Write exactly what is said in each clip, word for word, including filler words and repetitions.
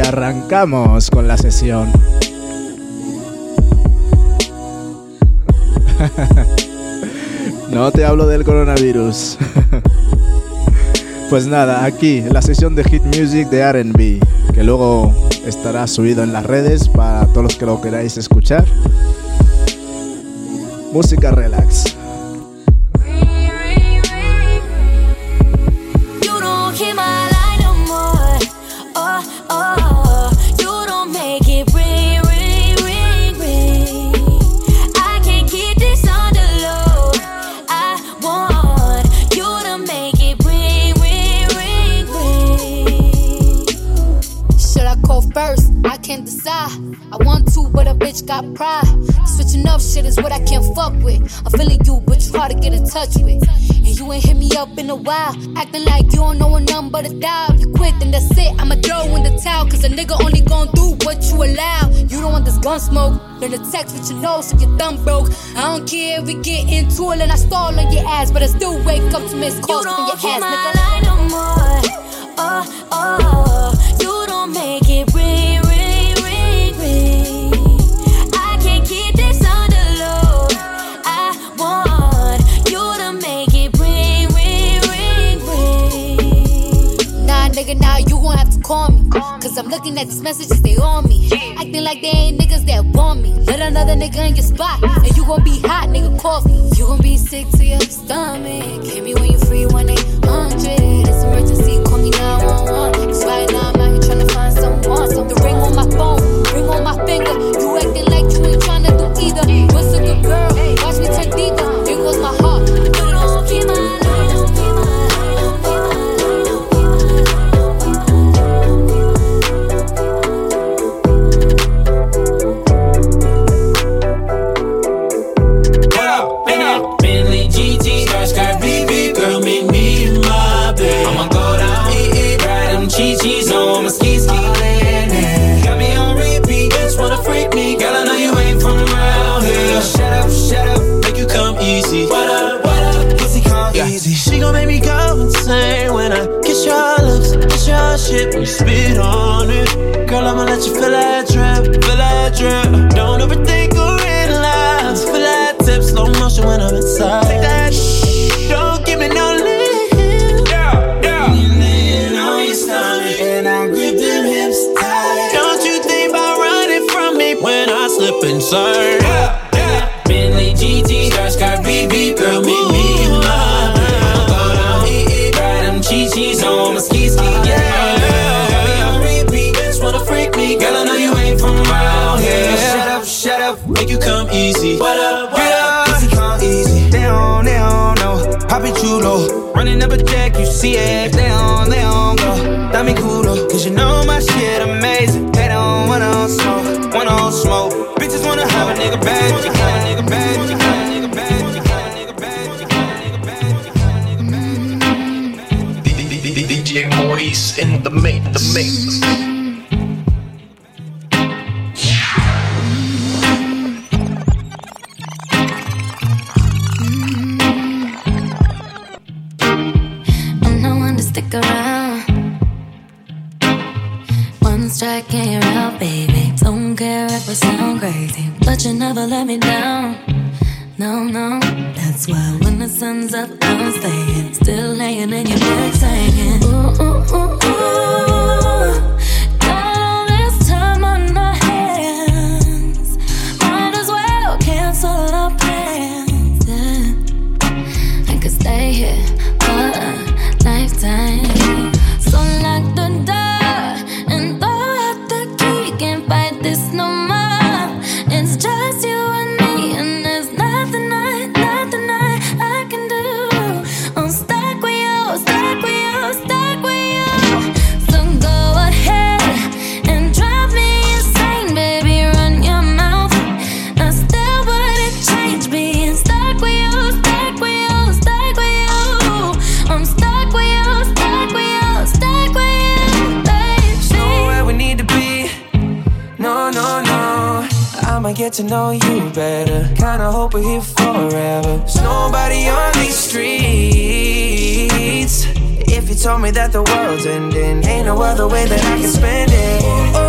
arrancamos con la sesión. No te hablo del coronavirus. Pues nada, aquí la sesión de Hit Music de R and B, que luego estará subido en las redes para todos los que lo queráis escuchar. Música relax. I want to, but a bitch got pride. Switching up shit is what I can't fuck with. I'm feeling you, but you hard to get in touch with. And you ain't hit me up in a while, acting like you don't know a number but a dial. You quit, then that's it, I'ma throw in the towel. Cause a nigga only gon' do what you allow. You don't want this gun smoke, learn to text with your nose if your thumb broke. I don't care if we get into it and I stall on your ass, but I still wake up to miss calls from your ass, nigga. You don't keep my line no more. Oh, oh, you don't make it ring, ring. Nigga, now you gon' have to call me. Cause I'm looking at these messages, they on me. Acting like they ain't niggas that want me. Let another nigga in your spot, and you gon' be hot, nigga, coffee. You gon' be sick to your stomach. Hit me when you free, one eight hundred. It's emergency, call me nine one one. Cause right now I'm out here tryna find someone. So the ring on my phone, ring on my finger. You acting like you ain't tryna do either. What's a good girl? Watch me turn deeper. Here goes my heart. Put it on, keep my life. Cheese on my ski ski. Got me on repeat, just wanna freak me. Girl, I know you ain't from around here. Shut up, shut up, make you come easy. What up, what up, pussy come yeah. easy. She gon' make me go insane when I kiss your lips, kiss your shit, when you spit on it. Girl, I'ma let you feel that drip, feel that drip. Don't overthink or realize. Feel that tip, slow motion when I'm inside. Take that shh, don't give me no leave. And I grip them hips tight. Don't you think about running from me when I slip inside? Yeah, yeah. Bentley G T, skirt, skirt, B B, girl, meet me in my bed. Go down, eat, eat, ride them chi-chis on my ski ski, yeah. Got me on repeat, just wanna freak me. Girl, I know you ain't from around here. Shut up, shut up, make you come easy. What up, what up, pussy come easy. They don't, they don't know, Papi Chulo. Running up a check, you see it. They don't, they don't go. Dame culo, cause you know my shit amazing. They don't wanna smoke, wanna smoke. Bitches wanna have a nigga bad, you got a nigga bad, you got a nigga bad, you got a nigga bad, you got a nigga bad, you got a nigga bad. D J Maurice in the mix, the mix. I'm no one to stick around. One strike and you're out, baby. Don't care if I sound crazy, but you never let me down. No, no, that's why when the sun's up, I'm staying. Still laying in your bed saying, ooh, ooh, ooh, ooh. Got all this time on our hands. Might as well cancel our plans. Yeah. I could stay here for a lifetime. So lock the door and throw out the key. Can't fight this no more. It's just you and me, and there's nothing I, nothing I, I can do. I'm stuck with you, stuck with you, stuck with you. So go ahead and drive me insane, baby. Run your mouth. I still wouldn't change being stuck with you, stuck with you, stuck with you. I'm stuck with you, stuck with you, stuck with you, baby. So where we need to be? No, no, no. I'ma get to know you better. Kinda hope we're here forever. There's nobody on these streets. If you told me that the world's ending, ain't no other way that I can spend it. Oh,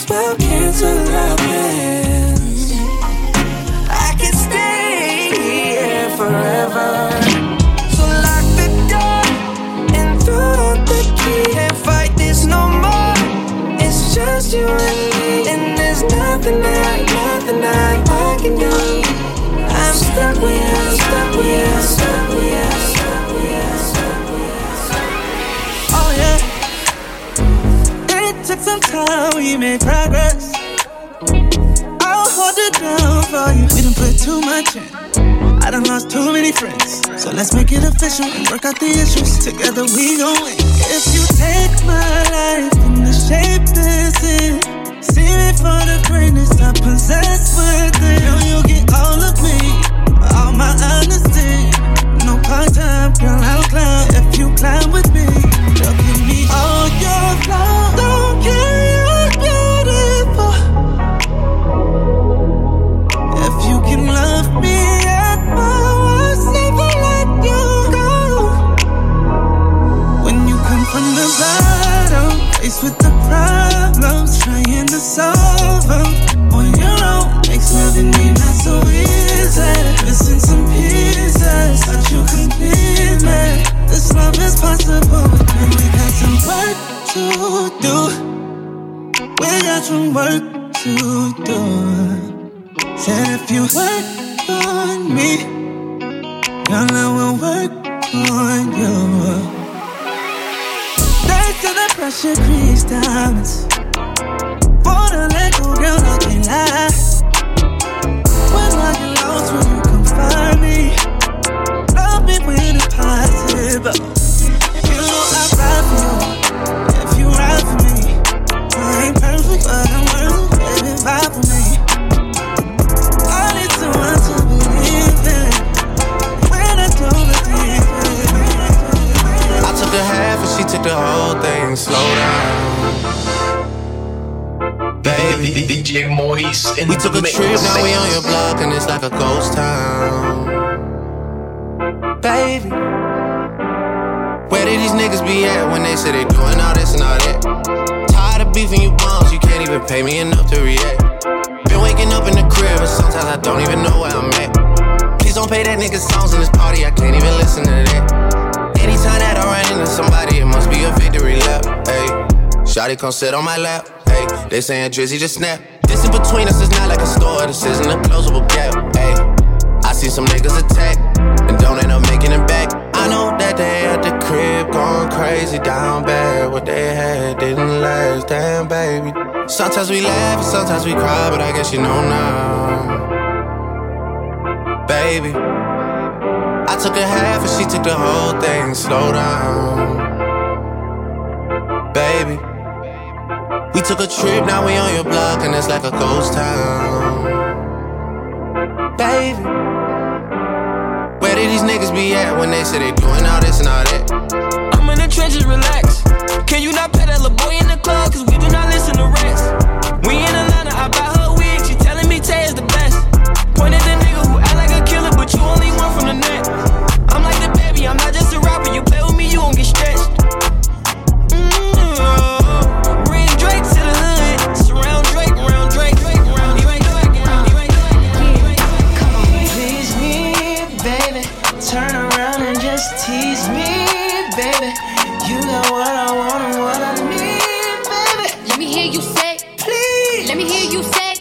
as well cancel our plans. I can stay here forever. So lock the door and throw out the key. Can't fight this no more. It's just you and me, and there's nothing that, nothing that I can do. I'm stuck with you, I'm stuck with you, I'm stuck with you, I'm stuck with you, I'm stuck with you. Oh yeah. It took some time, we made progress. I'll hold it down for you. We done put too much in. I done lost too many friends. So let's make it official and work out the issues. Together we gon' win. If you take my life in the shape this is, see me for the greatness I possess within. Know you get all of me, all my honesty. No part-time, girl, I'll climb. If you climb with me, you'll give me all your flaws. Don't care, you're beautiful. If you can love me at my worst, never let you go. When you come from the bottom, faced with the problems, trying to solve them on your own makes loving me not so easy. Missing some pieces, but you complete me. This love is possible, but we got some work to do. We got some work to do. Said if you work on me, your love will work on you. Thanks to the pressure creates diamonds. Wanna let go, girl, I can't lie. When I get lost, when you come find me, love me when it's possible. You know I ride for you, if you ride for me. I ain't perfect, but I'm worth it, baby, vibe for me. I need someone to believe in when I don't believe it. I took a half and she took the whole thing. Slow down, baby. D J Maurice in we the took a mix. trip, now we on your block and it's like a ghost town. Baby, where did these niggas be at when they say they doing all this and all that? Tired of beefing you bums, you can't even pay me enough to react. Been waking up in the crib and sometimes I don't even know where I'm at. Please don't play that nigga songs in this party, I can't even listen to that. Anytime that I run into somebody, it must be a victory lap. Ayy, shawty come sit on my lap. Ayy, they saying Drizzy just snap. This in between us is not like a store, this isn't a closable gap. Ayy, I see some niggas attack and don't end up making it back. I know that they at the crib going crazy, down bad. What they had didn't last, damn baby. Sometimes we laugh and sometimes we cry, but I guess you know now, baby. I took a half and she took the whole thing. Slow down, baby. We took a trip, now we on your block and it's like a ghost town. Baby, where did these niggas be at when they say they doing all this and all that? I'm in the trenches, relax. Can you not pet that little boy in the club? Cause we do not listen to rats. We in Atlanta, I buy her wig. She telling me Tay is the best. Point at the nigga who act like a killer, but you only one from the net. I'm like the baby, I'm not just a rapper. You play with me, you gon' get stretched. Mm-hmm. Bring Drake to the hood. Surround Drake, around Drake, Drake, around Drake, Drake, around Drake, Drake. Come on, please me, baby. Turn around and just tease me, baby. You got what I want and what I need, baby. Let me hear you say, Please. let me hear you say,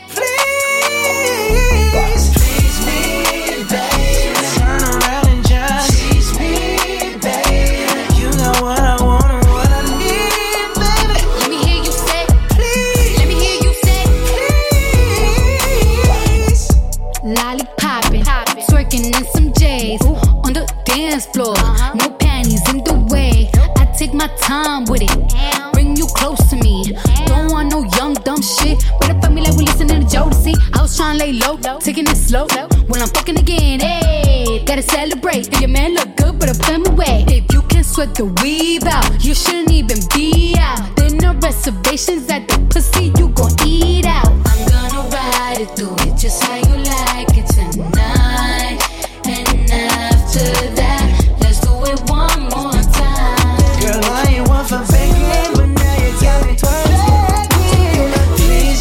Please, please me, baby. Turn around and just tease me, baby. You got what I want and what I need, baby. let me hear you say, Please, let me hear you say, please. lollipoppin', twerking in some J's on the dance floor. No panties in the way. I take my time with it. Bring you close to me. Don't want no young dumb shit. But if I me like we listening to Jodeci, I was trying to lay low, taking it slow. When I'm fucking again, hey, gotta celebrate. If your man look good, but I put him away. If you can sweat the weave out, you shouldn't even be out. There no reservations at the pussy, you gon' eat out. I'm gonna ride it, do it just how you like it tonight. And after that, let's do it one more time. Girl, I ain't one for begging, but now you got me twerking. Please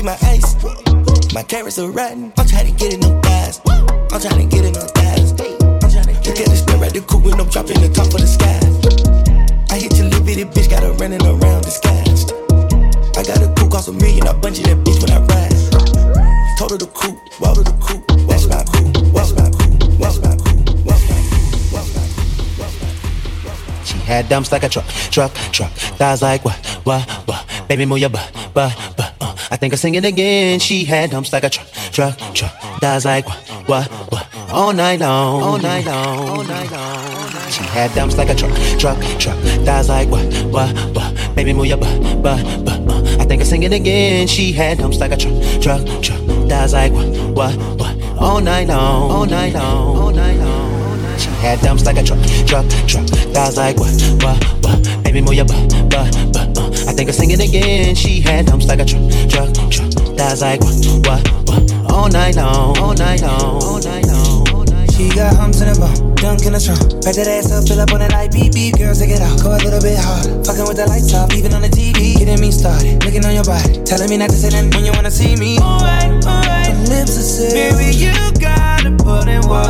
my ice. My carrots are rotten. I'm trying to get in them thighs. I'm trying to get in them thighs. I'm trying to get in the stare at the coupe when I'm dropping the top of the sky. I hit your little bitty bitch, got her running around disguised. I got a coupe, cost a million, I bungee that bitch when I ride. Told her the coupe, walk to the coupe, that's my coupe, that's my coupe, that's my coupe, that's my coupe, that's my coupe. She had dumps like a truck, truck, truck. Thighs like what, what, what? Baby, move your butt, butt, butt. Uh. I think I'll sing it again. She had dumps like a truck, truck, truck. Thighs like what, what, what? All night long, all night long, all night long. She had dumps like a truck, truck, truck. Thighs like what, what, what? Baby, move your butt, butt, butt. Uh. I think I'll sing it again. She had dumps like a truck, truck, truck. Thighs like what, what, what? All night long, all night long, all night long. She had dumps like a truck, truck, truck. Thighs like what, what, what? Baby, move your butt, butt, butt. Uh. I think I'll sing it again. She had dumps like a truck, truck, truck. Thighs like what, what, what? All night long, all night long, all night long. She got humps in the bone, dunk in the trunk. Back that ass up, fill up on that light, beep, beep. Girls, take it out, go a little bit harder. Fucking with the lights off, even on the T V. Getting me started, looking on your body. Telling me not to say nothing when you wanna see me. Alright, alright. My lips are sealed. Baby, you gotta put in work.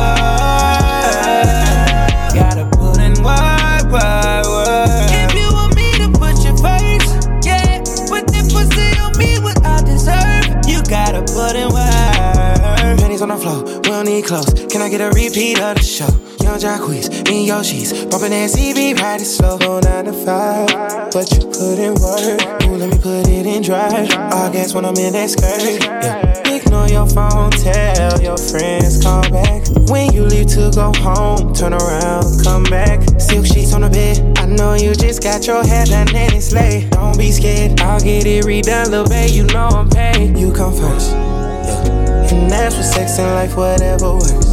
Gotta put in work, work, work. If you want me to put you first, yeah. Put that pussy on me, what I deserve. You gotta put in work. Pennies on the floor, we don't need clothes. Can I get a repeat of the show? Young Jacquees, in your sheets, bumping that C V, ride it slow. Go nine to five, but you put in work. Ooh, let me put it in drive. I guess when I'm in that skirt, yeah. Ignore your phone, tell your friends, call back. When you leave to go home, turn around, come back. Silk sheets on the bed, I know you just got your hair done and it's late. Don't be scared, I'll get it redone, little babe, you know I'm paid. You come first, yeah. And that's for sex and life, whatever works.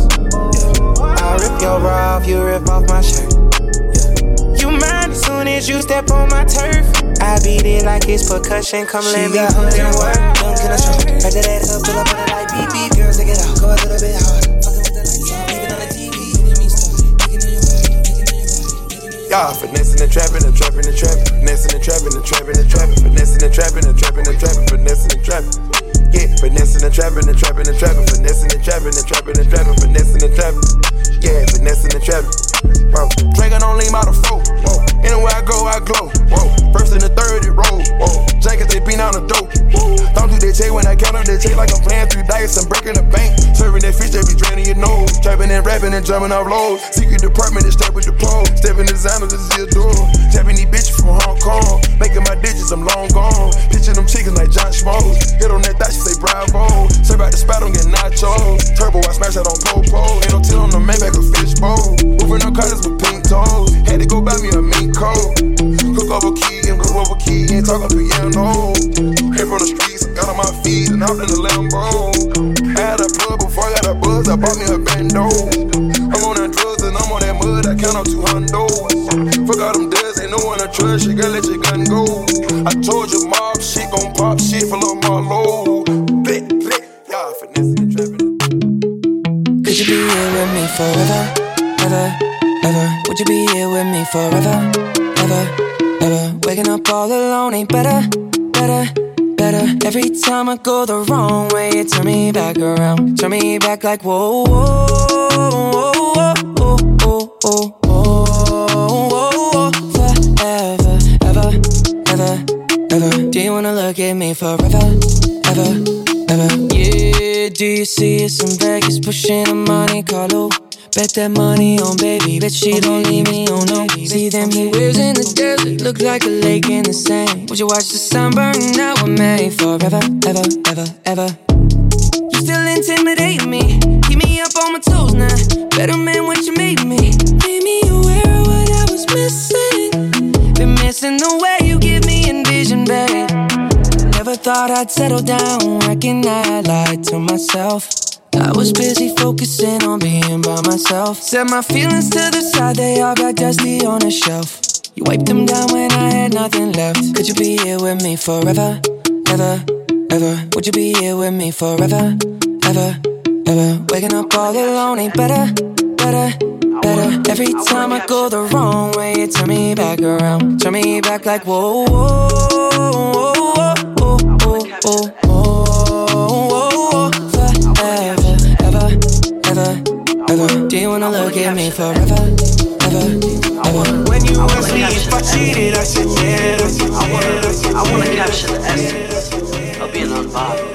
I rip your bra off, you rip off my shirt. Yeah. You mine as soon as you step on my turf. I beat it like it's percussion, come let me put in work. Dunk in the trunk, back that ass up, fill up on the light, beep, beep. Girls, take it out, go a little bit harder. Fucking with the lights off, even on the T V. Getting me started, looking on your body, looking on your body. Y'all finessing and trapping and trapping and trapping, finessing and trapping and trapping and trapping, finessing and trapping and trapping and trapping, finessing and trapping. Yeah, finessing and trapping and trapping and trapping, finessing and trapping and trapping and trapping, finessing and trapping. Yeah, finessing and trapping. Bro, Dragon don't lean out the flow. Whoa, anywhere I go, I glow. Whoa, first and the third it roll. Whoa, Jenkins they beat on the dope. Whoa, don't do that check when I count up that check like I'm playing three dice. I'm breaking the bank, serving that fish that be draining your nose. Trapping and rapping and jumping off lows. Secret department is step with the pole. Stepping designer, this is your door. Tapping these bitches from Hong Kong. Making my digits, I'm long gone. Pitching them chickens like John Schmoes. Hit on that thigh, she say bravo. Serve out the spot, don't get nachos. Turbo, I smash that on Popo. Ain't no till on the Maybach or fishbowl. Moving no colors with pink toes. Had to go buy me a mink coat. Cook over key and cook over key. Ain't talking piano. Came from the streets, got on my feet and hopped in the Lambo. I had a plug before I got a buzz. I bought me a bando. I'm on that drugs and I'm on that mud. I count on two hundos. Fuck all them duds, ain't no one to trust. You gotta let your gun go. I told you mob shit gon' pop shit for Lil Marlo. Blick, blick, y'all finessing and trapping. Could you be here with me forever, ever, ever? Would you be here with me forever, ever, ever? Waking up all alone ain't better, better, better. Every time I go the wrong way, you turn me back around. Turn me back like whoa, whoa, whoa, whoa, whoa, whoa, whoa, whoa. Forever, ever, ever, ever. Do you wanna look at me forever, ever, ever? Yeah, do you see us in Vegas pushing a Monte Carlo? Bet that money on baby, bet she don't leave me on no. See them waves in the desert, look like a lake in the sand. Would you watch the sun burn out with me forever, ever, ever, ever? You still intimidate me, keep me up on my toes now. Better man what you made me. Made me aware of what I was missing. Been missing the way you give me envision, babe. Never thought I'd settle down, reckon I lied to myself. I was busy focusing on being by myself. Set my feelings to the side, they all got dusty on a shelf. You wiped them down when I had nothing left. Could you be here with me forever, ever, ever? Would you be here with me forever, ever, ever? Waking up all alone ain't better, better, better. Every time I go the wrong way, you turn me back around. Turn me back like whoa, whoa, whoa, whoa, whoa, whoa, whoa, whoa. forever, ever, ever. When you ask me if I cheated, I said yeah, I said yeah. I wanna capture the essence of being unbothered.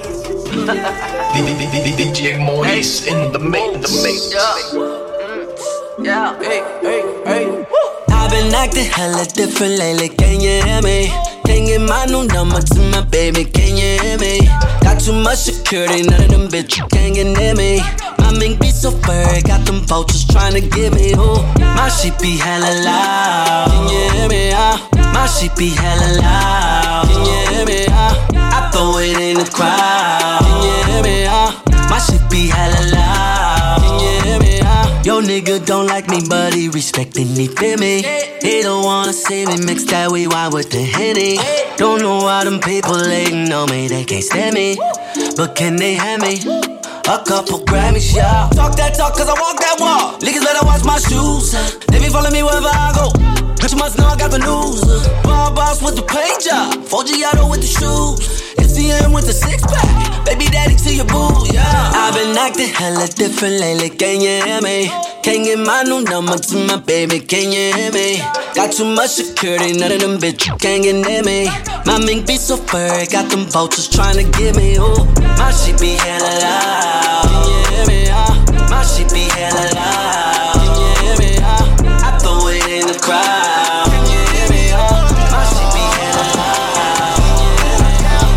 D J Maurice in the main, the main. Yeah, hey, hey, hey. I've been acting hella different lately, can you hear me? Can't get my new number to my baby, can you hear me? Got too much security, none of them bitches can't get near me. My mink be so furry, got them vultures trying to get me. Ooh, my shit be hella loud, can you hear me? Uh, my shit be hella loud, can you hear me? Uh, I throw it in the crowd, can you hear me? Uh, my shit be hella loud, can you hear me? Uh, yo nigga don't like me, but he respectin' me, feel me? He don't wanna see me mix that weed wine with the Henny. Don't know why them people hating on me, they can't stand me, but can they have me? A couple Grammys, yeah. Talk that talk, cause I walk that walk. Niggas better watch my shoes. They be following me wherever I go. But you must know I got the news. Bar boss with the paint job. four Giotto with the shoes. S C M with the six pack. Baby daddy to your boo, yeah. I've been acting hella different lately, can you hear me? Can't get my new number to my baby, can you hear me? Got too much security, none of them bitches can't get near me. My mink be so furry, got them vultures trying to get me. Ooh, my shit be hella loud, can you hear me? Uh, my shit be hella loud, can you hear me? Uh, I throw it in the crowd, can you hear me? Uh, my shit be hella loud, can you hear me?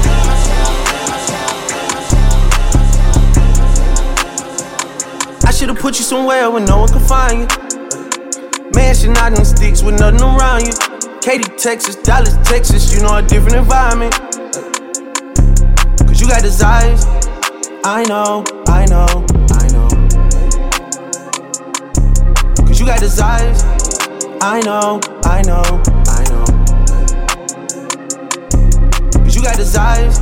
I should've put you somewhere where no one can find you. Mansion out in sticks with nothing around you. Katy, Texas, Dallas, Texas, you know a different environment. Cause you got desires. I know, I know, I know. Cause you got desires. I know, I know, I know. Cause you got desires.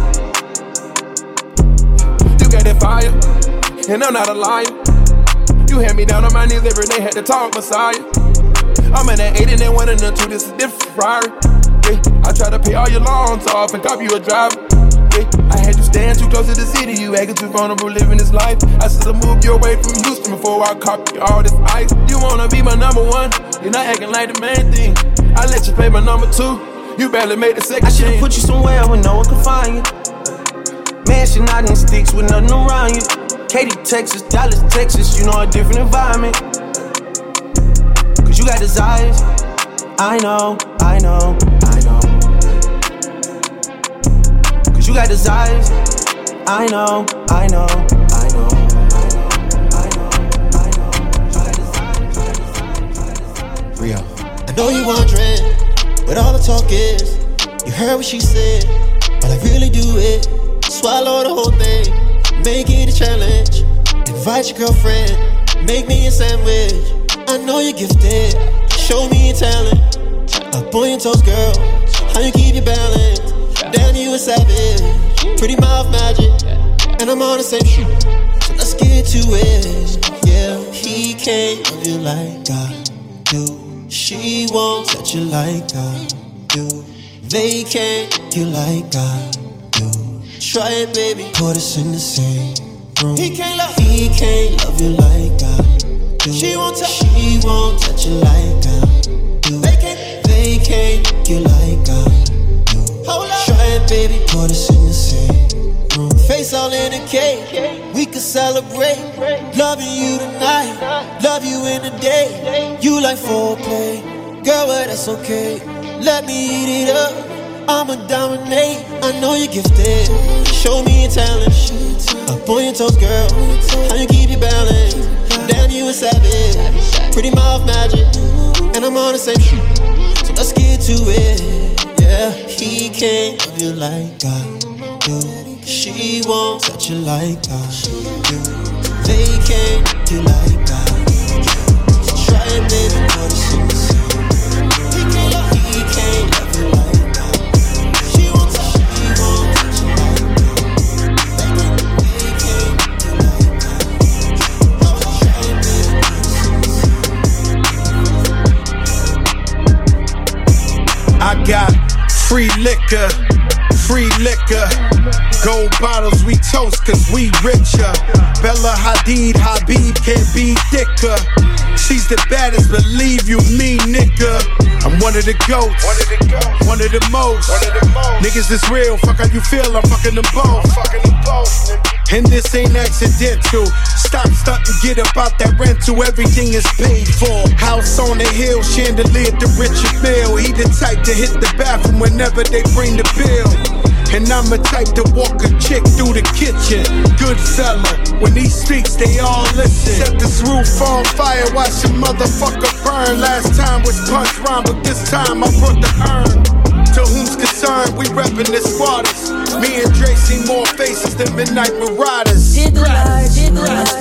You got that fire, and I'm not a liar. You had me down on my knees every day, had to talk Messiah. I'm in that eight and that one and the two, this is different Ferrari. Yeah, I try to pay all your loans off and copy you a driver. Yeah, I had you stand too close to the city, you acting too vulnerable living this life. I should've moved you away from Houston before I copy all this ice. You wanna be my number one, you're not acting like the main thing. I let you play my number two, you barely made the second. I should've put you somewhere where no one can find you. Mansion out in sticks with nothing around you. Katy, Texas, Dallas, Texas, you know a different environment. Cause you got desires. I know, I know, I know. Cause you got desires. I know, I know, I know, I know, I know. Rio. I know you wondering what all the talk is. You heard what she said, but I really do it. Swallow the whole thing. Make it a challenge. Invite your girlfriend. Make me a sandwich. I know you're gifted. Show me your talent. Up on your toes, girl. How you keep your balance? Damn, you a savage. Pretty mouth magic. And I'm on the same shoe. So let's get to it. Yeah, he can't love you like I do. She won't touch you like I do. They can't love you like I do. Try it, baby, put us in the same room. He can't love, he can't love you like I do. She won't touch, she won't touch you like I do. They can't, they can't love you like I do. Hold up. Try it, baby, put us in the same room. Face all in a cake, we could celebrate. Loving you tonight, love you in the day. You like foreplay, girl, well that's okay. Let me eat it up. I'ma dominate, I know you're gifted. Show me your talent. Up on your toes, girl. How you keep your balance? Damn, you a savage. Pretty mouth magic. And I'm on the same shoe. So let's get to it. Yeah, he can't love you like I do. She won't touch you like I do. They can't do you like I do. So try it, baby, put us in the same. He can't love you like I got free liquor Free liquor, gold bottles we toast cause we richer. Bella Hadid, Habib can't be thicker. She's the baddest, believe you me, nigga. I'm one of the goats, one of the, goats. One of the most. One of the most. Niggas is real, fuck how you feel, I'm fucking them both. I'm fucking them both, nigga. And this ain't accidental. Stop stunting, get up out that rental, everything is paid for. House on the hill, chandelier to Richard Mill. He the type to hit the bathroom whenever they bring the bill. And I'm the type to walk a chick through the kitchen. Good fella, when he speaks, they all listen. Set this roof on fire, watch the motherfucker burn. Last time was punch rhyme, but this time I brought the urn. To whom's concerned, we reppin' the squatters. Me and Dre see more faces than Midnight Marauders. Hit the lights, hit the lights,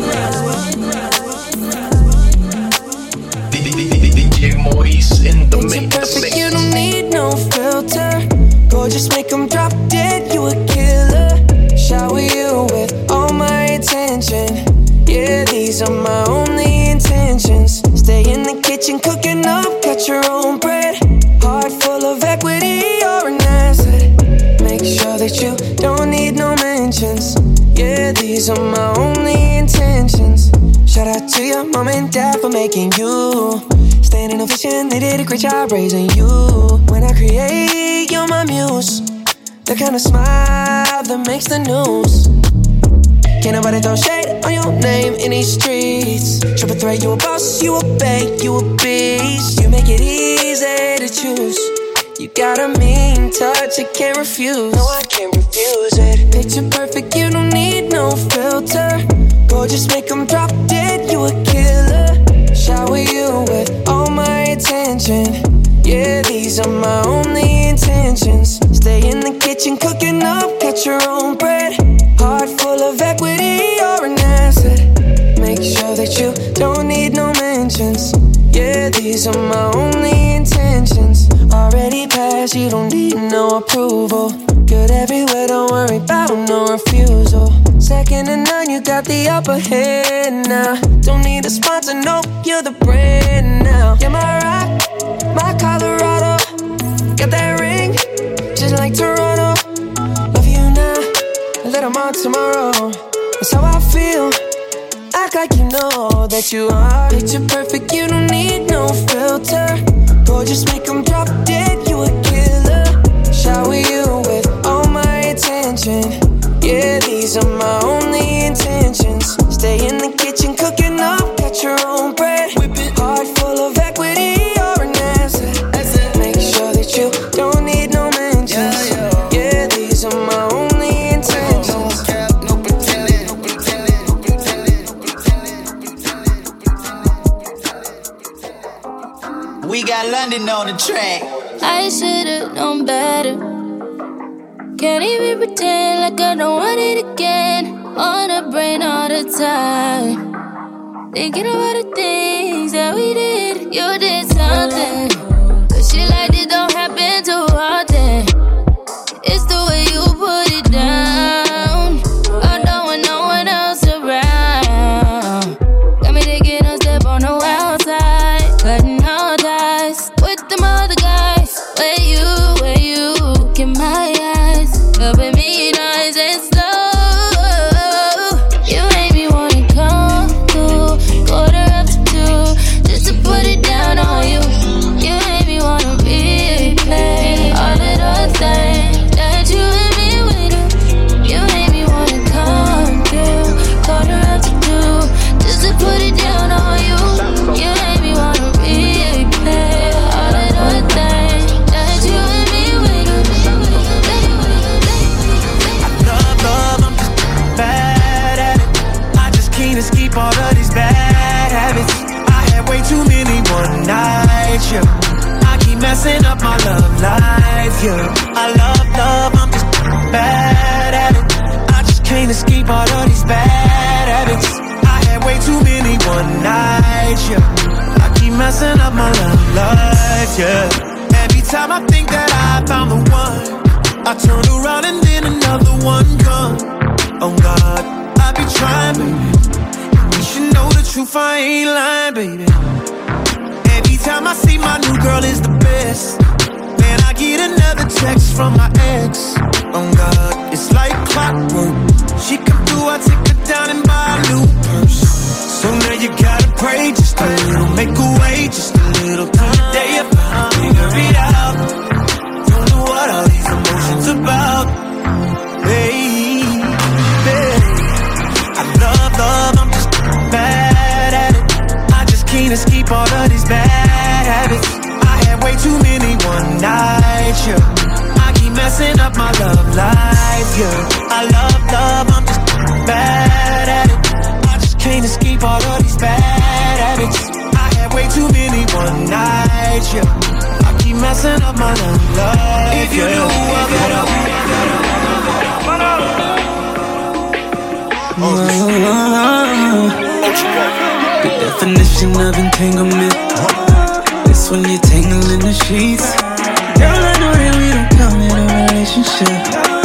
D J Maurice in the mix. Perfect, you don't need no filter. Gorgeous, make them drop dead, you a killer. Shower you with all my attention. Yeah, these are my only intentions. Stay in the kitchen, cooking up, cut your own bread. Heart full of equity, you're an asset. Make sure that you don't need no mentions. Yeah, these are my only intentions. Shout out to your mom and dad for making you. Standing ovation, they did a great job raising you. When I create, you're my muse. The kind of smile that makes the news. Can't nobody throw shade on your name in these streets. Triple threat, you a boss, you a bank, you a beast. You make it easy to choose. You got a mean touch, I can't refuse. No, I can't refuse it. Picture perfect, you don't need no filter. Gorgeous, make them drop dead, you a killer. Shower you with all my attention. Yeah, these are my only intentions. Stay in the kitchen, cooking up, cut your own bread. Heart full of equity, you're an asset. Make sure that you don't need no mentions. Yeah, these are my only intentions. Already passed, you don't need no approval. Good everywhere, don't worry about no refusal. Second to none, you got the upper hand now. Don't need a sponsor, no, you're the brand now. You're my rock, my Colorado. Got that ring, just like Toronto. Love you now, a little more tomorrow. That's how I feel. Act like you know that you are. Picture perfect, you don't need no filter. Gorgeous, make them drop dead, you a killer. Shower you with all my attention. Yeah, these are my only intentions. Stay in the kitchen, cooking up, cut your own bread. Heart full of equity, you're an asset. Make sure that you don't need no mentions. Yeah, these are my only intentions. We got London on the track. I should've known better. Can't even pretend like I don't want it again. On the brain all the time. Thinking about the things that we did. You did something. But shit like this don't happen too often. It's the way you put it down. I don't want no one else around. Got me taking a step on the wild side. Cutting all ties with them other guys. Where you, where you, get my eyes. Up at me nice and slow. You made me wanna come through. Quarter up to two, just to put it down on you. You made me wanna replay all of those things that you and me would do. You made me wanna come through. Quarter up to two, just to put it down on you. You made me wanna replay all of those things that you and me would do. Bad at it. I just can't escape all of these bad habits. I had way too many one nights, yeah. I keep messing up my love life, yeah. I love love, I'm just bad at it. I just can't escape all of these bad habits. I had way too many one nights, yeah. I keep messing up my love life, yeah. Every time I think that I found the one, I turn around and then another one comes. Oh God, I be trying, baby. You should know the truth, I ain't lying, baby. Every time I see my new girl is the best. Man, I get another text from my ex. Oh God, it's like clockwork. She come through, I take her down and buy a new purse. So now you gotta pray just a little, make a way just a little. Till the day you finally figure it out. Don't know what all these emotions about. Baby, I love love, I'm just bad at it. I just can't escape all of these bad habits. I had way too many one nights, yeah. I keep messing up my love life, yeah. I love love, I'm just bad at it. I just can't escape all of these bad habits. I had way too many one nights, yeah. I keep messing up my love life. If you yeah. knew what it up, the definition of entanglement. It's when you tangle in the sheets. Girl, I know that we don't come in a relationship,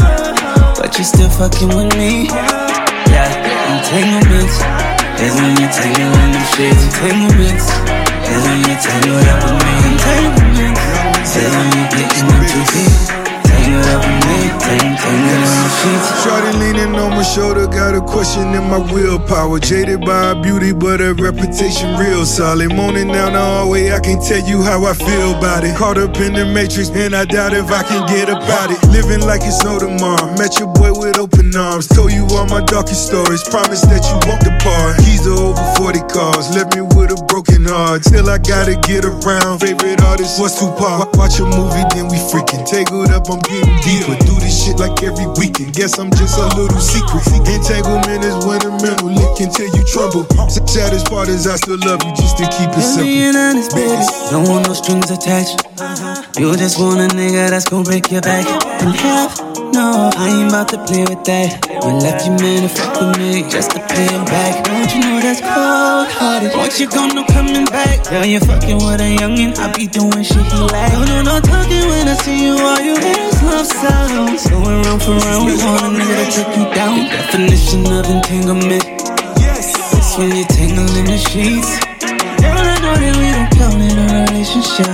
but you still fucking with me. Yeah, entanglements is when you tangle in the sheets. Entanglements is when you tangle up with me. Entanglements is when you getting in too deep. Tangle up with me, tangle, tangle in the sheets. Shorty leaning on my shoulder, got a question in my willpower. Jaded by her beauty, but her reputation real solid. Moaning down the hallway, I can't tell you how I feel about it. Caught up in the matrix, and I doubt if I can get about it. Living like it's no tomorrow. Met your boy with open arms. Told you all my darkest stories. Promised that you won't depart. Keys to over forty cars. Left me with a broken heart. Still I gotta get around. Favorite artist was Tupac. Watch a movie, then we freaking tangled up. I'm getting deeper. Do this shit like every weekend. Guess I'm just a little secret. Entanglement is when a man will lick until you trouble. Saddest part is I still love you just to keep it simple. Being honest, baby, don't want no strings attached. You just want a nigga that's gon' break your back in half. No, I ain't about to play with that. You left your man to fuck with me just to pay him back. Don't you know that's cold-hearted? Once you gone, no coming back. Girl, you fucking with a youngin', I be doing shit he like. No, no, no talking when I see you. All you hear is love sounds. Going round for round, we want a nigga to take you down. The definition of entanglement. It's when you tangle in the sheets. Girl, I know that we don't count in a relationship,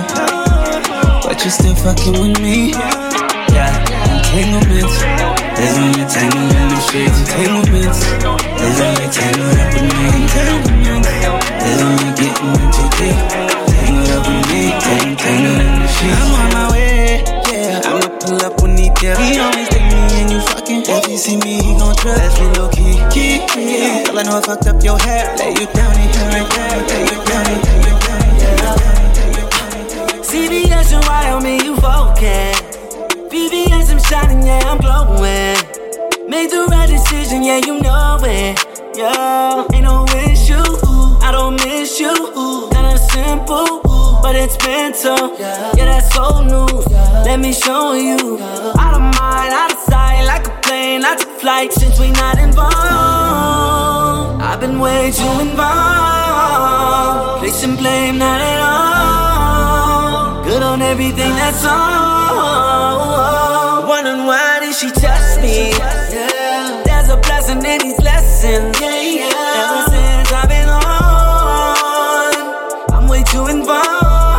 but you still fucking with me. Yeah, entanglements is when you tangle in the sheets. Entanglements is when you tangle up with me. Entanglements is when you getting in too deep. Tangle up with me, tangle, tangle in the sheets. I'm on my way, yeah. I'ma pull up when he there. He always take me and you fucking. If he see me, he gon' trust. That's me low key, key, key. Girl, I know I fucked up your hair. Lay you down in here right there. Lay you down in here, lay you down in here. C B S and why on me you focus. B B S I'm shining, yeah I'm glowing. Made the right decision, yeah you know it. Yeah, ain't no issue, I don't miss you. Kinda simple, but it's mental. Yeah, that's so new. Let me show you. Out of mind, out of sight, like a plane, I took flight since we not involved. I've been way too involved. Placing blame, not at all. Good on everything that's on. Wondering why did she touch me? Yeah, there's a blessing in these lessons. Yeah, yeah. Ever since I've been on, I'm way too involved.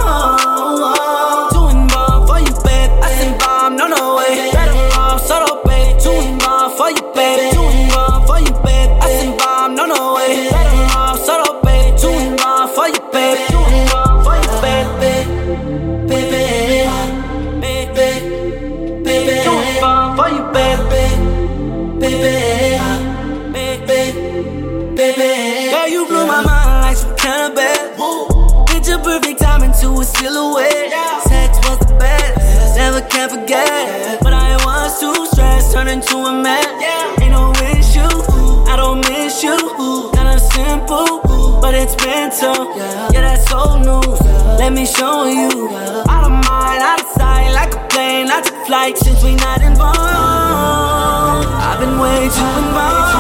Too involved for you, babe. I say bomb, no, no way. Better off solo, babe. Too involved for you, babe. Too involved for you, babe. I say bomb, no, no way. Better off solo, babe. Too involved for you, babe. Too involved for you, babe. Baby, baby, baby. Too involved for you, babe. Baby, baby, baby. Girl, you blew my mind like some kind of bad. Picture perfect time into a silhouette. Sex was the best, never can forget. But I was too stressed, turned into a man. Ain't no issue, I don't miss you. Kinda simple, but it's mental. Yeah, that's so new. Let me show you. Out of mind, out of sight, like a plane. I took flight since we not involved. I've been way too involved.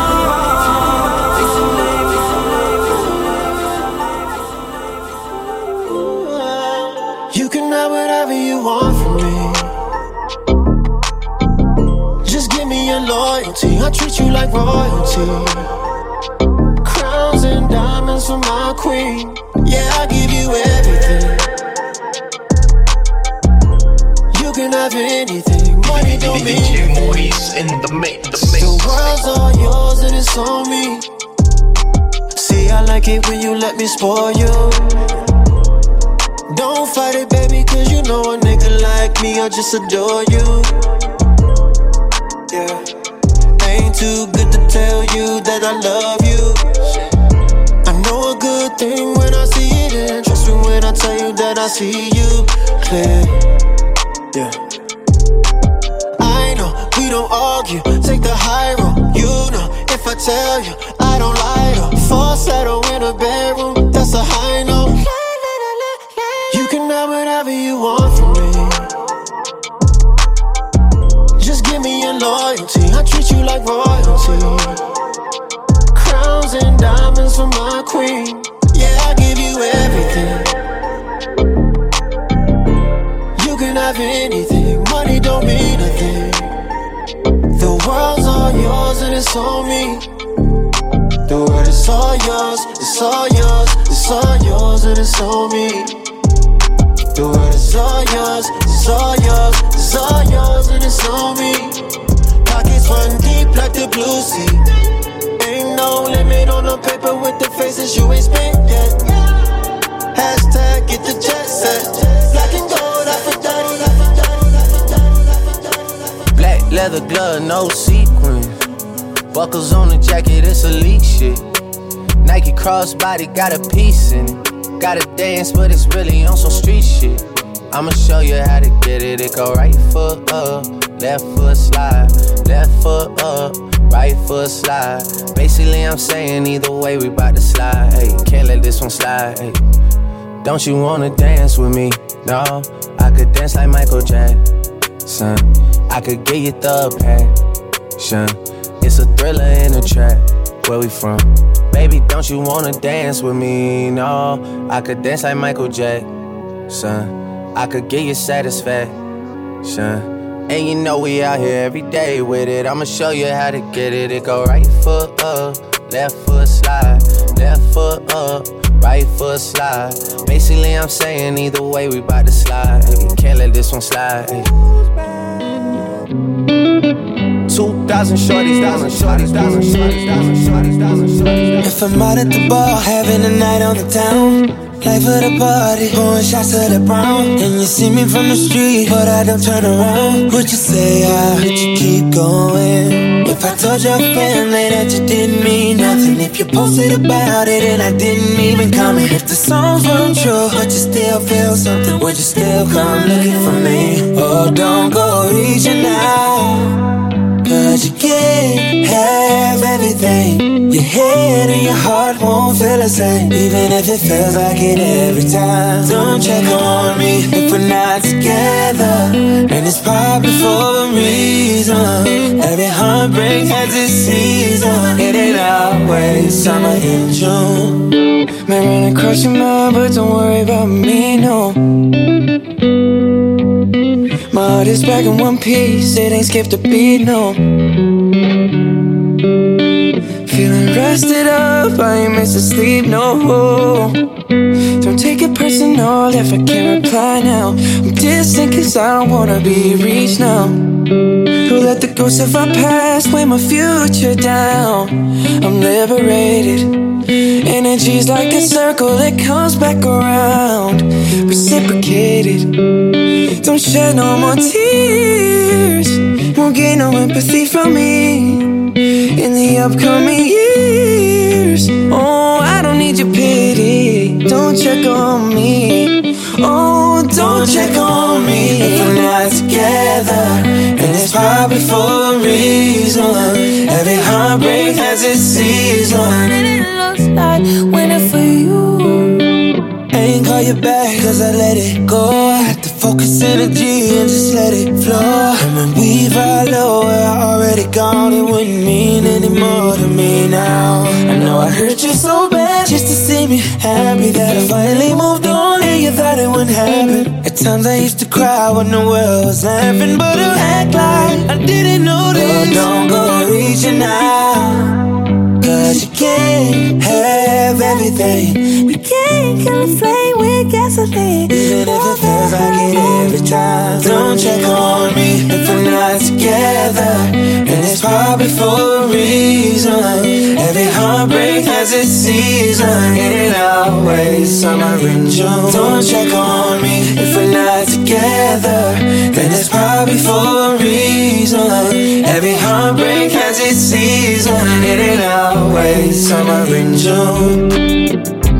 You can have whatever you want from me. Just give me your loyalty. I'll treat you like royalty. Crowns and diamonds for my queen. Yeah, I'll give you everything. You can have have anything, money don't mean D J Maurice in the mix. The world's all yours and it's on me. See, I like it when you let me spoil you. Don't fight it, baby, cause you know a nigga like me, I just adore you. Yeah, ain't too good to tell you that I love you. I know a good thing when I see it, and trust me when I tell you that I see you clear. Yeah, I know we don't argue, take the high road. You know if I tell you I don't lie to fall settle in a bedroom, that's a high note. You can have whatever you want from me. Just give me your loyalty, I treat you like royalty. Crowns and diamonds for my queen. Yeah, I give you everything. You can have anything, money don't mean a thing. The world's all yours and it's on me. The world is all yours, it's all yours, it's all yours and it's on me. The world is all yours, it's all yours, it's all yours and it's on me. Pockets run deep like the blue sea. Ain't no limit on the paper with the faces you ain't spent yet. Hashtag get the jet set. Black and gold, Aphrodite. Black leather glove, no sequin. Buckles on the jacket, it's elite shit. Nike crossbody got a piece in it. Gotta dance, but it's really on some street shit. I'ma show you how to get it. It go right foot up, left foot slide, left foot up, right foot slide. Basically, I'm saying either way, we bout to slide. Hey, can't let this one slide. Hey, don't you wanna dance with me? No, I could dance like Michael Jackson. I could get you the passion. It's a thriller in a trap. Where we from? Baby, don't you wanna dance with me? No, I could dance like Michael Jackson. I could get you satisfaction. And you know we out here every day with it. I'ma show you how to get it. It go right foot up, left foot slide, left foot up, right foot slide. Basically, I'm saying either way, we bout to slide. Hey, can't let this one slide. Hey. Two thousand shorties, thousand shorties, thousand shorties, thousand shorties, thousand shorties. If I'm out at the bar, having a night on the town. Life of the party, pouring shots to the brown. And you see me from the street, but I don't turn around. Would you say I would you keep going? If I told your family that you didn't mean nothing, if you posted about it and I didn't even comment, if the songs weren't true, but you still feel something, would you still come looking for me? Oh, don't go reaching out, cause you can't have everything. Your head and your heart won't feel the same, even if it feels like it every time. Don't check on me if we're not together, and it's probably for a reason. Every heartbreak has its season. It ain't always summer in June. May run across your mind, but don't worry about me, no. My heart is back in one piece, it ain't skipped a beat, no. Feeling rested up, I ain't missing sleep, no. Don't take it personal if I can't reply now. I'm distant cause I don't wanna be reached now. Who let the ghosts of our past weigh my future down? I'm liberated. Energy's like a circle that comes back around, reciprocated. Don't shed no more tears, won't get no empathy from me in the upcoming years. Oh, I don't need your pity, don't check on me. Oh, don't check on me if we're not together, and it's probably for a reason. Every heartbreak has its season, and it looks like winning for you. Ain't call you back cause I let it go. I had to focus energy and just let it flow. And when we follow where I already gone, it wouldn't mean any more to me now. I know I hurt you so bad just to see me happy that I finally moved on and you thought it wouldn't happen. At times I used to cry when the world was laughing, but I act like I didn't notice. Oh, don't go reaching out, cause you can't have everything. everything. We can't kill a flame with gasoline. Even if it feels like it every time. Don't check on me if we're not together, and it's probably for a reason. Every heartbreak has its season. It ain't always summer in June. Don't check on me if we're not together, then it's probably for a reason. Every heartbreak has its season. It ain't always summer in June.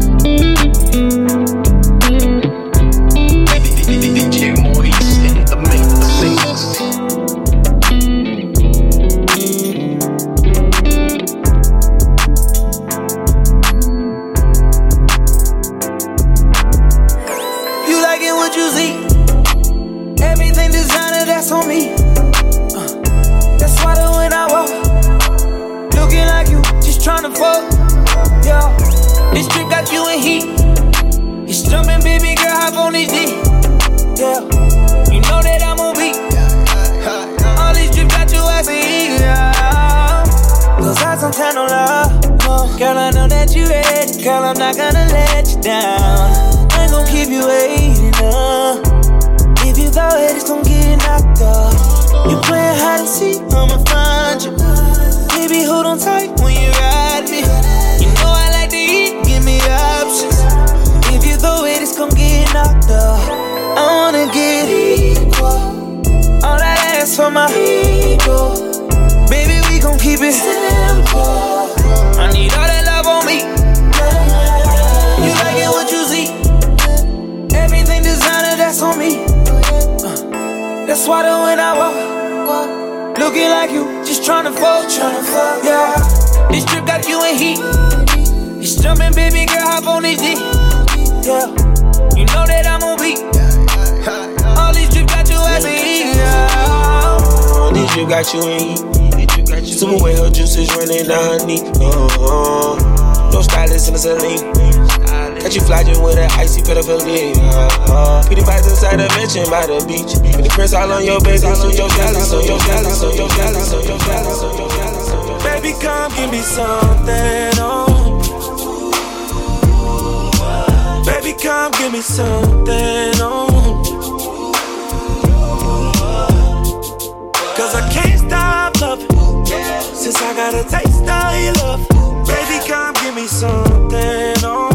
On me, uh, that's why the when I walk, looking like you, just tryna fuck, yeah. This trip got you in heat. It's jumping, baby girl, hop on this D, yeah. You know that I'm on beat. All these trips got you asking, yeah. Cause I don't tell no love, no. Girl, I know that you ready. Girl, I'm not gonna let you down. I ain't gon' keep you waiting, uh. If you throw it, it's gon' get knocked off. You playin' hide and seek, I'ma find you. Baby, hold on tight when you ride me. You know I like to eat, give me options. If you throw it, it's gon' get knocked off. I wanna get equal. All that ass for my ego. Baby, we gon' keep it simple. I need all that love on me. You like it what you see. Everything designer, that's on me. That's why the when I walk, looking like you, just tryna fuck, tryna fuck, yeah. This trip got you in heat. It's jumping, baby girl, hop on this D, yeah. You know that I'm on beat. All these trips got you asking, yeah. This trip got you in heat. Super way her juices running down her knee. Uh-huh. No stylist in the saline. Got you flogging with that icy pedophilia. Uh-huh. Pretty pies inside a mansion by the beach. With the prints all on your baby, so your galley, so your galley, so your galley, so your galley, so your galley, so your galley. Baby, come give me something, oh. Baby, come give me something, oh. Cause I can't stop loving, since I got a taste of your love. Baby, come give me something, oh.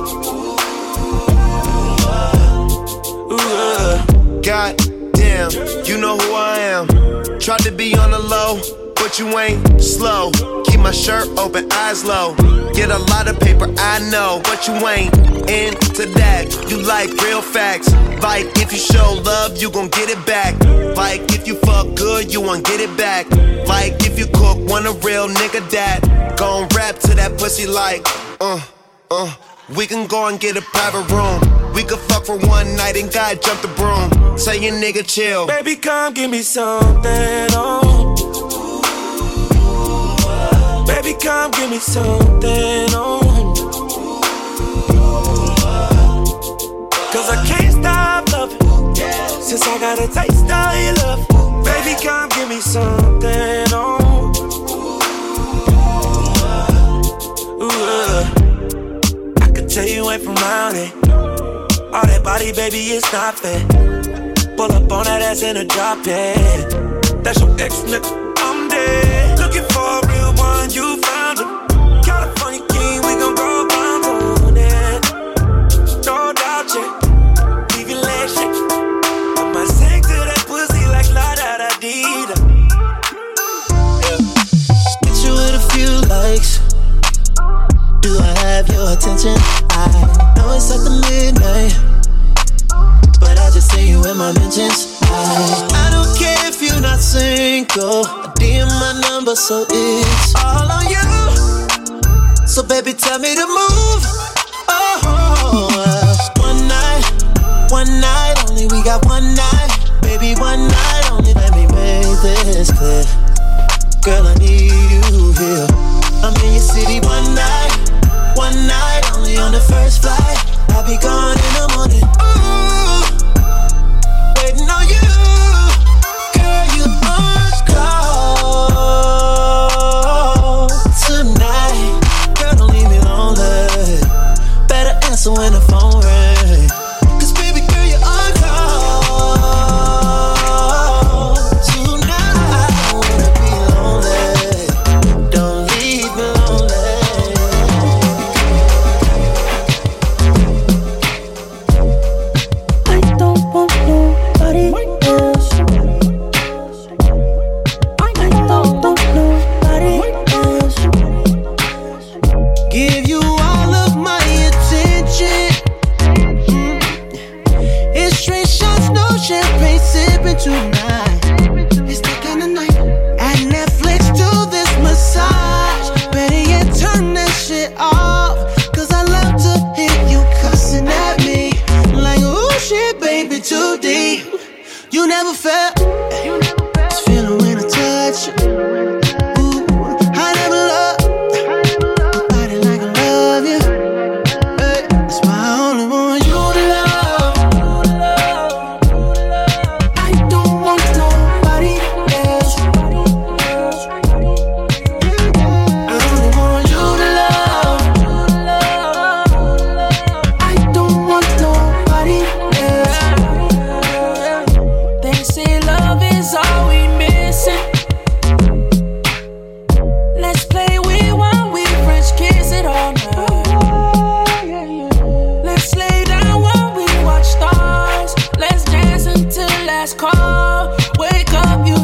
God damn, you know who I am. Tried to be on the low, but you ain't slow. Keep my shirt open, eyes low. Get a lot of paper, I know, but you ain't into that. You like real facts. Like if you show love, you gon' get it back. Like if you fuck good, you won't get it back. Like if you cook, want a real nigga that gon' rap to that pussy like, uh, uh. We can go and get a private room. We could fuck for one night and God jump the broom. Say your nigga chill. Baby, come give me something, oh. Baby, come give me something, oh. Cause I can't stop loving, since I got a taste of your love. Baby, come give me something, oh. Ooh, uh. Tell you ain't from round it. All that body, baby, it's not fair. Pull up on that ass in a drop, yeah. That's your ex, nigga, I'm dead. Looking for a real one, you found him. California king, we gon' go bounce on it. No doubt, yeah. Leave your legs shake. I might sing to that pussy like la da da dee da. Get you with a few likes. Do I have your attention? I know it's at the midnight, but I just see you in my mentions. I, I don't care if you're not single. I D M my number, so it's all on you. So baby, tell me to move. Oh, uh, one night, one night only. We got one night, baby, one night only. Let me make this clear, girl. I need you here. I'm in your city one night. One night, only on the first flight. I'll be gone in the morning. Ooh, waiting on you. Girl, you on call tonight. Girl, don't leave me lonely.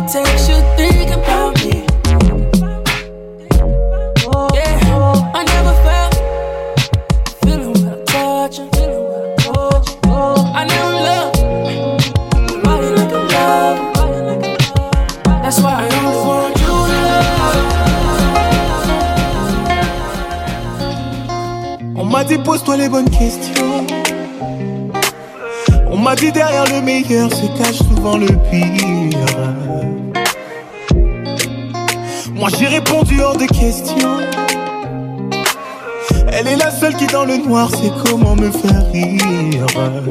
text you think about me. Yeah, I never felt feeling when I touch you. I never loved nobody like I love. That's why I only want you to love. On m'a dit pose-toi les bonnes questions. On m'a dit derrière le meilleur se cache souvent le pire. Moi j'ai répondu hors de question. Elle est la seule qui dans le noir sait comment me faire rire.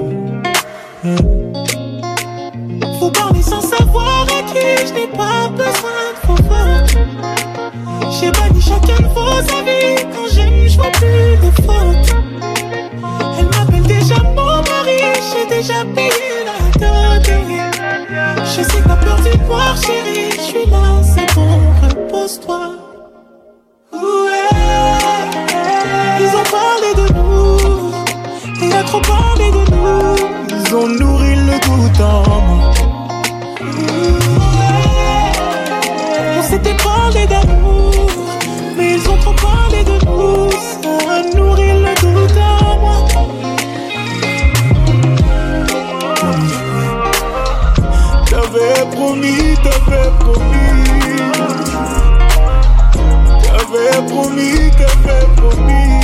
Faut parler sans savoir à qui je n'ai pas besoin de vos fautes. J'ai banni chacun de vos avis. Quand j'aime je vois plus les fautes. Elle m'appelle déjà mon mari. J'ai déjà payé la dot. Je sais que t'as peur du noir chérie. Je suis là c'est bon repose-toi. Ils ont parlé de nous, il a trop parlé de nous. Ils ont nourri le doute en moi. On s'était parlé d'amour, mais ils ont trop parlé de nous. Ça a nourri le doute en moi. T'avais promis, t'avais promis. T'avais promis, t'avais promis.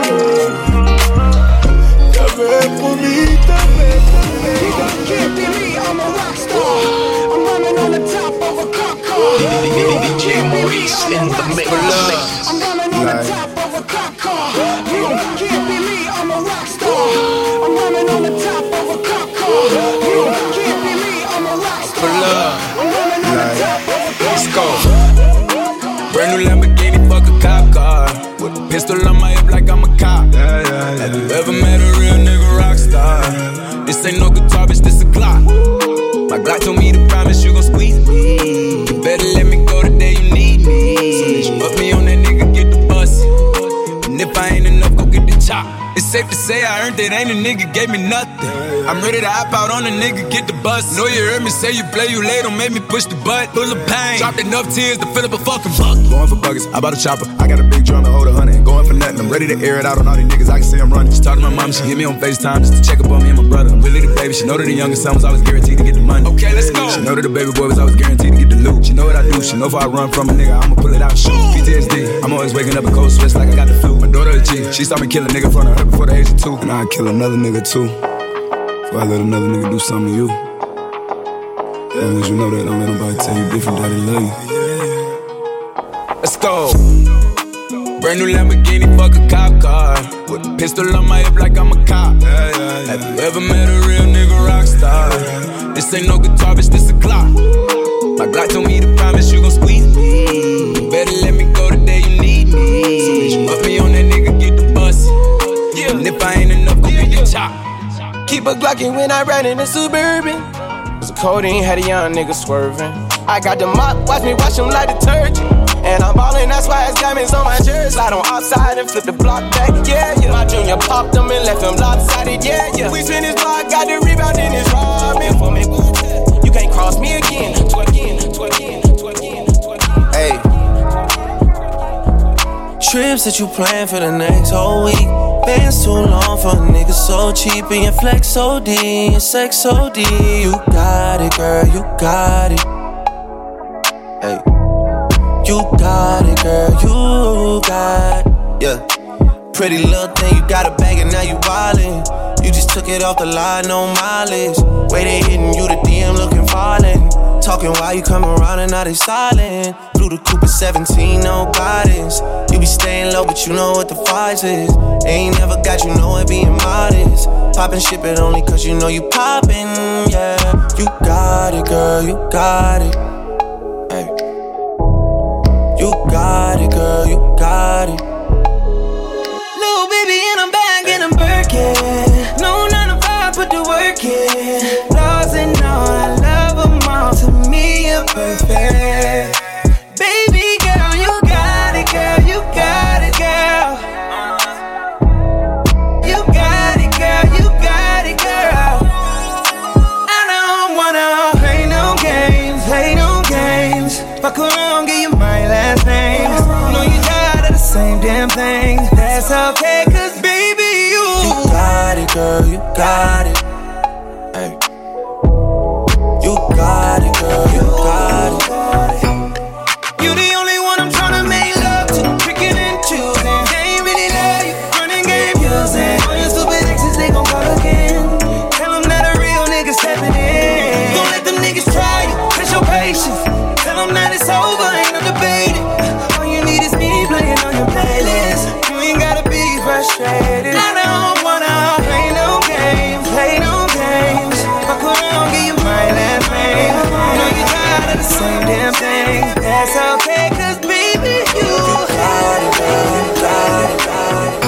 T'avais promis, t'avais promis. Can't be me, I'm a rock star. I'm running on the top of a cop car. D J Maurice in the mix. I'm running on the top of a cop car. Can't be me, I'm a rock star. I'm running on the top of a cop car. Can't be me, I'm a rock star. I'm running on the top of a cop car. Let's go. Brand new Lamborghini, fuck a cop car. With a pistol on my hip like I'm a cop. Yeah, yeah, yeah. Have you ever met a real nigga rock star? This ain't no guitar, bitch, this a Glock. My Glock told me to promise you gon' squeeze me. You better let me go the day you need me. So put me on that nigga, get the bus. And if I ain't enough, go get the chop. It's safe to say I earned it, ain't a nigga gave me nothing. I'm ready to hop out on a nigga, get the bus. Know you heard me say you play, you late, don't make me push the butt. Full of pain, dropped enough tears to fill up a fucking bucket. Going for buckets, I bought a chopper. I got a big drum to hold a hundred. Going for nothing, I'm ready to air it out on all these niggas. I can see I'm running. Just talk to my mom, she hit me on FaceTime just to check up on me and my brother. I'm really the baby, she know that the youngest son was always guaranteed to get the money. Okay, let's go. She know that the baby boy was always guaranteed to get the loot. She know what I do, she know if I run from a nigga, I'ma pull it out, shoot. P T S D, I'm always waking up in cold sweats like I got the flu. My daughter a G, she saw me kill a nigga in front of her before the age of two. And I'd kill another nigga too, before I let another nigga do something to you. As long as you know that, don't let nobody tell you different, that they love you. Let's go. Brand new Lamborghini, fuck a cop car. With a pistol on my hip like I'm a cop. Yeah, yeah, yeah. Have you ever met a real nigga rock star? This ain't no guitar, bitch, this a Glock. My Glock told me to promise you gon' squeeze me. You better let me go the day you need me. So put me on that nigga, get the bus. Yeah. And if I ain't enough, go get the chop. Keep a Glockin' when I ride in a Suburban. Cause the codeine had a young nigga swerving. I got the mop, watch me wash him like detergent. And I'm ballin', that's why it's diamonds on my jersey. Slide on outside and flip the block back, yeah, yeah. My junior popped him and left him lopsided, yeah, yeah. We spin his block, got the rebound in his robbing. For me, you can't cross me again. Twerk again, twerk again, twerk again, twerk again. Hey. Trips that you plan for the next whole week. Bands too long for a nigga so cheap. And your flex O D, your sex O D. You got it, girl, you got it. Hey. You got it, girl, you got it. Yeah. Pretty little thing, you got a bag and now you wildin'. You just took it off the line, no mileage. Way they hitting you, the D M looking violent. Talking while you come around and now they silent. Blew the coupe at seventeen, no guidance. You be staying low, but you know what the price is. Ain't never got you know it being modest. Poppin' shit, but only cause you know you poppin', yeah. You got it, girl, you got it. Hey. You got it, girl, you got it. Little baby in a bag and I'm Birkin. No nine to five, put the work in. Flaws and all, I love them all. To me, you're perfect. Baby girl, you got it, girl, you got it, girl. You got it, girl, you got it, girl. I don't wanna play no games, play no games. Fuck around, give you my last name. Know you tired of the same damn thing. That's okay, cause baby, you You got it, girl, you got it. Hey. You got it, girl, you got it. You the only one I'm tryna make love to. Picking and choosing. They ain't really love you. Running game using. All your stupid exes, they gon' call again. Tell them that a real nigga stepping in. Don't let them niggas try you. Test your patience. Tell them that it's over, ain't no debating. All you need is me playing on your playlist. You ain't gotta be frustrated. I don't wanna play no games. Play no games. Fuck around, give you my last name. Know you tired of the same damn thing. That's okay, cause baby, you got it, girl, you got it, got it,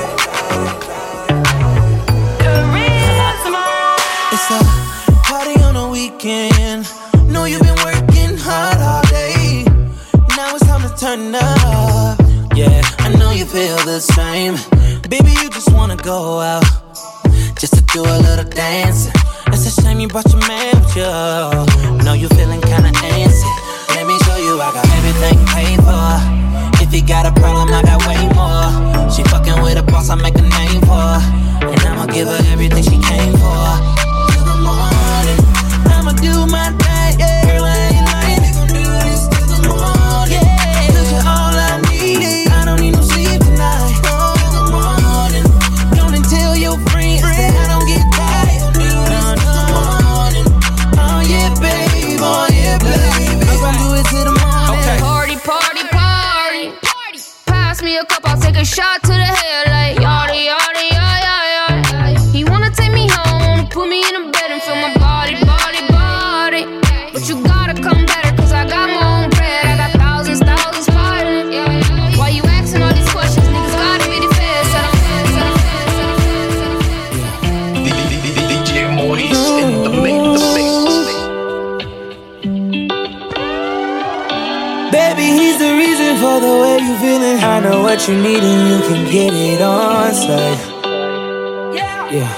It's a party on a weekend. Know you've been working hard all day. Now it's time to turn up. Yeah, I know you feel the same. Baby, you just wanna go out just to do a little dancing. It's a shame you brought your man with you. Know you feeling kinda antsy. Let me show you I got everything paid for. If you got a problem, I got way more. She fucking with a boss, I make a name for. And I'ma give her everything she came for. Till the morning, I'ma do my thing. Girl, I ain't lying, we gon' do this till the morning. Yeah, cause you're all I need. I don't need no sleep tonight. Till the morning, don't tell your friends that I don't get tired. Do this till the morning. Oh yeah, babe, oh yeah, baby. I'm gon' do it till the morning. Okay. Party, party, party. Pass me a cup, I'll take a shot to the head like yada, yada, yada, yada. He wanna take me home, wanna put me in a bed and feel my body, body, body. But you gotta come better, cause I got my own bread. I got thousands, thousands fighting. Why you asking all these questions? Niggas gotta be the feds. Said I'm fed, said I'm fed, said I'm fed, said I'm fed. D J Maurice in the mix, the mix. Baby, he's the reason for the way you feeling. I know what you need and you can get it on site. Yeah.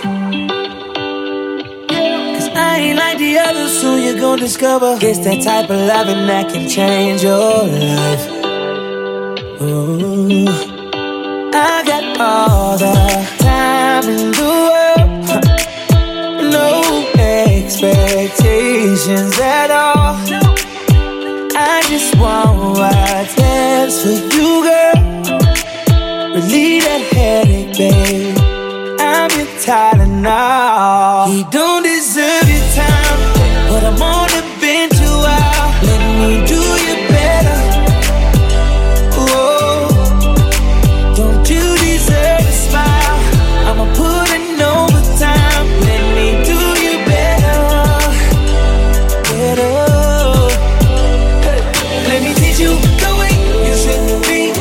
Cause I ain't like the others, soon you're gon' discover it's that type of loving that can change your life. Ooh. I got all the time in the world. No expectations at all. I just want what's best for you, girl. Relieve that headache, babe. I'm your Tylenol. He don't deserve your time, but I'm on the bench a while. Let me do you better. Whoa. Don't you deserve a smile? I'ma put in overtime. Let me do you better. Better. Let me teach you the way you should be.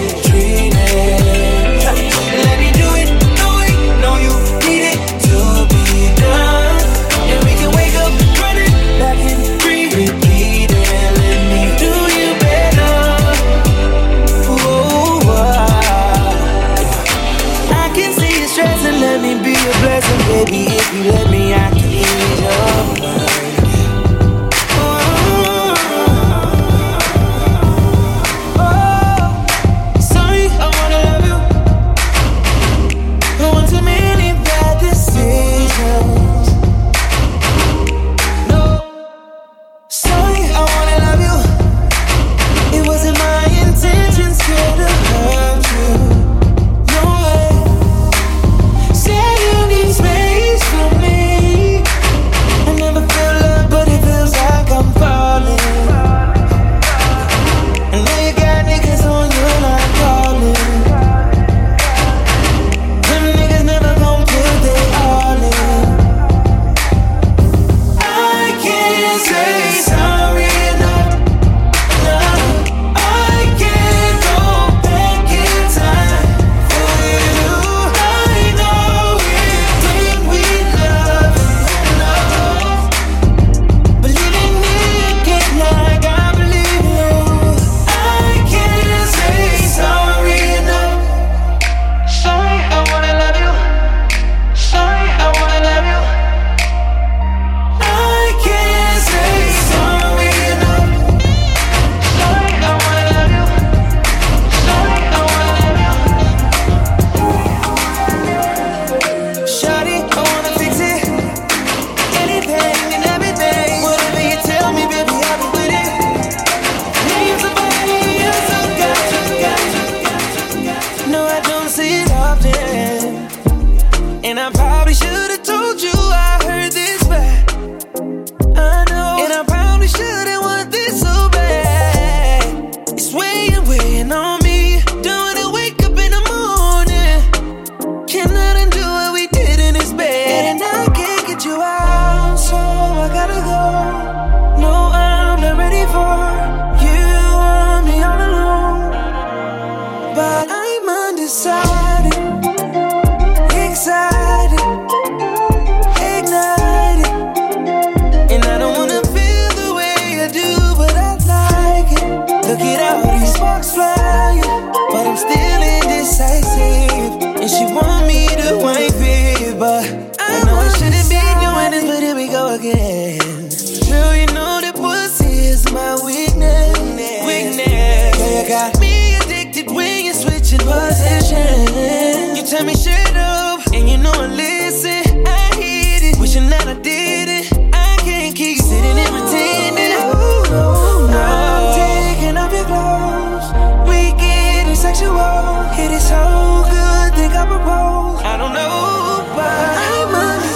sparks fly, but I'm still indecisive. And she want me to wife it, but I know I shouldn't be doing this, but here we go again. Girl, you know that pussy is my weakness. Weakness. Girl, you got me addicted when you're switching positions. You tell me shut up, and you know I listen. I hit it, wishing that I did it. I can't keep sitting and pretending. Oh, no, no. I'm taking off your clothes. We getting sexual. It is so good, think I propose. I don't know, but I'm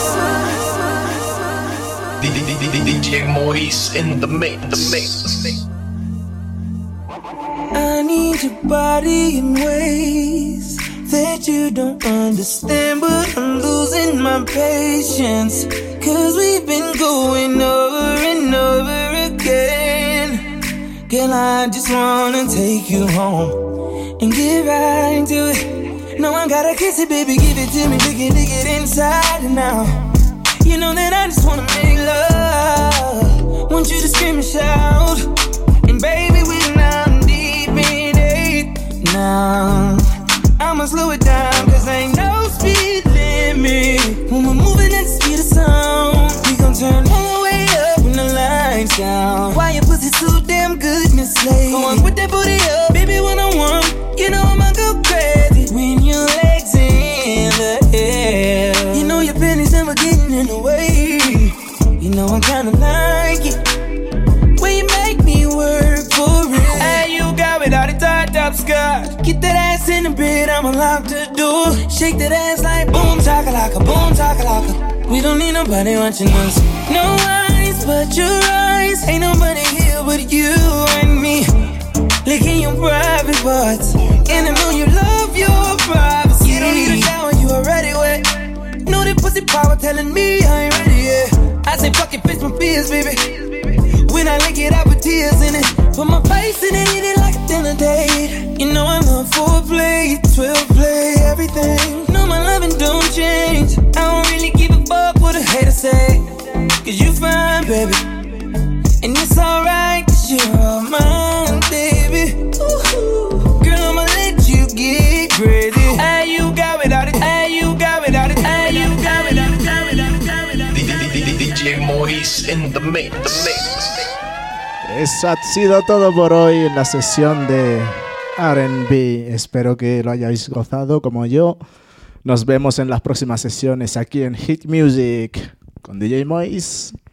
D J Moise in the mix, the mix, the mix. I need your body in ways that you don't understand, but I'm losing my patience. Cause we've been going over and over again. Girl, I just wanna take you home and get right into it. No, I gotta kiss it, baby, give it to me, dig it, dig it inside and out. You know that I just wanna make love. Want you to scream and shout. And baby, we're now deep in it. Now, I'ma slow it down, cause ain't no speed limit. When we're moving at the speed of sound, we gon' turn all the way up when the lights down. Why your pussy so damn good, Miss Slade? Go on, put that booty up, baby, when I want. You know I'ma go crazy when your legs in the air. You know your pennies never getting in the way. You know I kinda like it when you make me work for it. Hey, you got it all the tied up skirt. Get that ass in the bed, I'ma lock the door. Shake that ass like boom chakalaka, boom chakalaka. We don't need nobody watching us. No eyes but your eyes. Ain't nobody here but you and me. Licking your private parts, and I know you love your privacy. You don't need a shower, you already wet. Know that pussy power telling me I ain't ready yet. I say fuck it, fix my fears, baby. When I lick it, I put tears in it. Put my face in it, eat it like a dinner date. You know I love foreplay, twelve play, everything. No, my loving don't change. I don't really give a fuck what a hater say. Cause you fine, baby. And it's alright, cause you're all mine, baby. Ooh, girl, I'ma let you get crazy. Hey, you got it out of, hey, you got it out of, hey, you got it out of, got it out of, got it out of. D J Moise in the mix, the mix. Eso ha sido todo por hoy en la sesión de R and B. Espero que lo hayáis gozado como yo. Nos vemos en las próximas sesiones aquí en Hit Music con D J Moise.